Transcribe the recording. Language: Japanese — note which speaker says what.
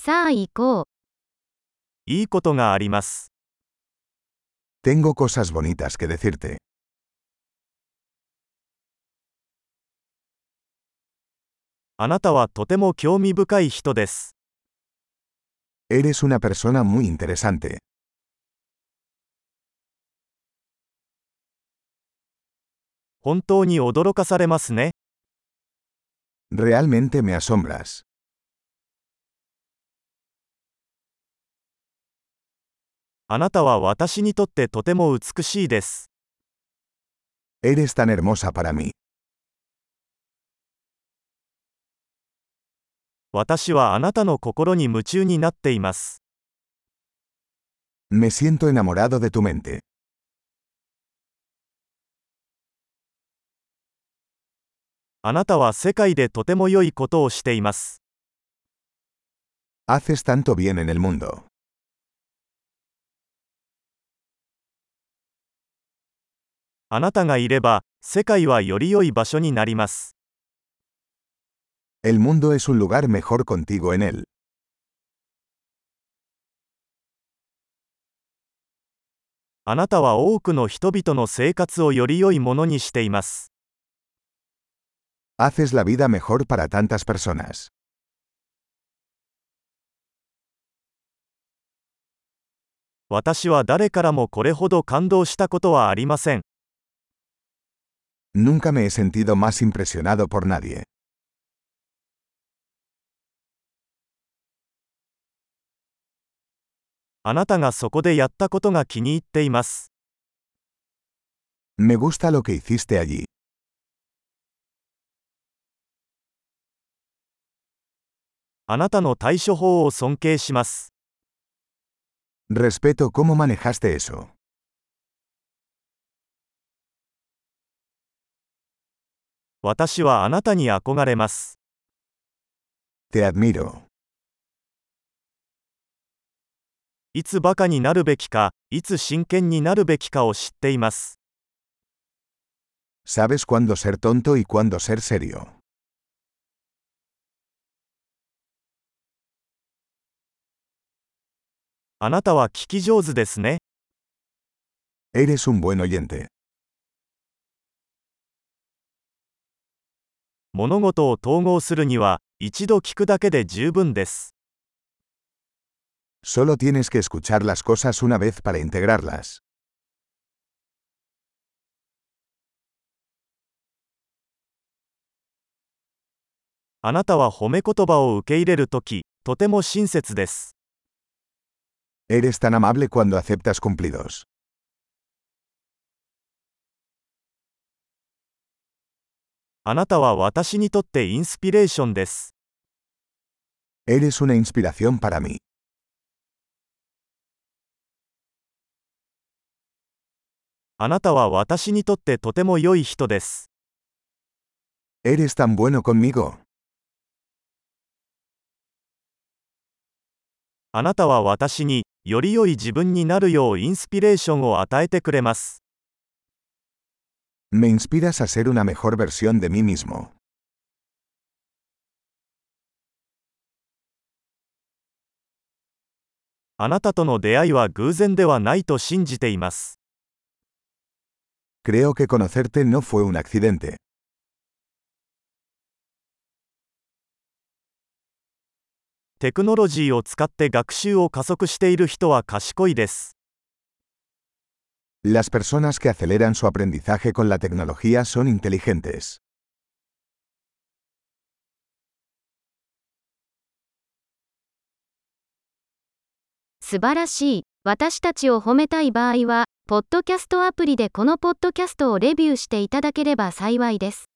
Speaker 1: さあ行こう。
Speaker 2: いいことがあります。
Speaker 3: Tengo cosas bonitas que decirte.
Speaker 2: あなたはとても興味深い人です。
Speaker 3: Eres una persona muy interesante.
Speaker 2: 本当に驚かされますね。
Speaker 3: Realmente me asombras.
Speaker 2: あなたは私にとってとても美しいです。
Speaker 3: Eres tan hermosa para mí.
Speaker 2: 私はあなたの心に夢中になっています。
Speaker 3: Me siento enamorado de tu mente.
Speaker 2: あなたは世界でとても良いことをしています。
Speaker 3: Haces tanto bien en el mundo.
Speaker 2: あなたがいれば、世界はより良い場所になります。
Speaker 3: El mundo es un lugar mejor contigo en él.
Speaker 2: あなたは多くの人々の生活をより良いものにしています。
Speaker 3: Haces la vida mejor para tantas personas.
Speaker 2: 私は誰からもこれほど感動したことはありません。
Speaker 3: Nunca me he sentido más impresionado por nadie.
Speaker 2: あなたがそこでやったことが気に入っています。
Speaker 3: Me gusta lo que hiciste allí.
Speaker 2: あなたの対処法を尊敬します。
Speaker 3: Respeto cómo manejaste eso.
Speaker 2: 私はあなたに憧れます。
Speaker 3: Te admiro.
Speaker 2: いつバカになるべきか、いつ真剣になるべきかを知っています。
Speaker 3: Sabes cuándo ser tonto y cuándo ser serio.
Speaker 2: あなたは聞き上手ですね。
Speaker 3: Eres un buen oyente.
Speaker 2: 物事を統合するには、一度聞くだけで十分です。
Speaker 3: Solo tienes que escuchar las cosas una vez para integrarlas.
Speaker 2: あなたは褒め言葉を受け入れるとき、とても親切です。
Speaker 3: Eres tan amable cuando aceptas cumplidos.
Speaker 2: あなたは私にとってインスピレーションです。
Speaker 3: Eres una inspiración para mí.
Speaker 2: あなたは私にとってとても良い人です。
Speaker 3: Eres tan bueno conmigo.
Speaker 2: あなたは私に、より良い自分になるようインスピレーションを与えてくれます。
Speaker 3: Me inspiras a ser una mejor versión de mí mismo.
Speaker 2: あなたとの出会いは偶然ではないと信じています。
Speaker 3: Creo que conocerte no fue un accidente.
Speaker 2: テクノロジーを使って学習を加速している人は賢いです。
Speaker 3: Las personas que aceleran su aprendizaje con la tecnología son inteligentes.
Speaker 1: 素晴らしい。私たちを褒めたい場合は、ポッドキャストアプリでこのポッドキャストをレビューしていただければ幸いです。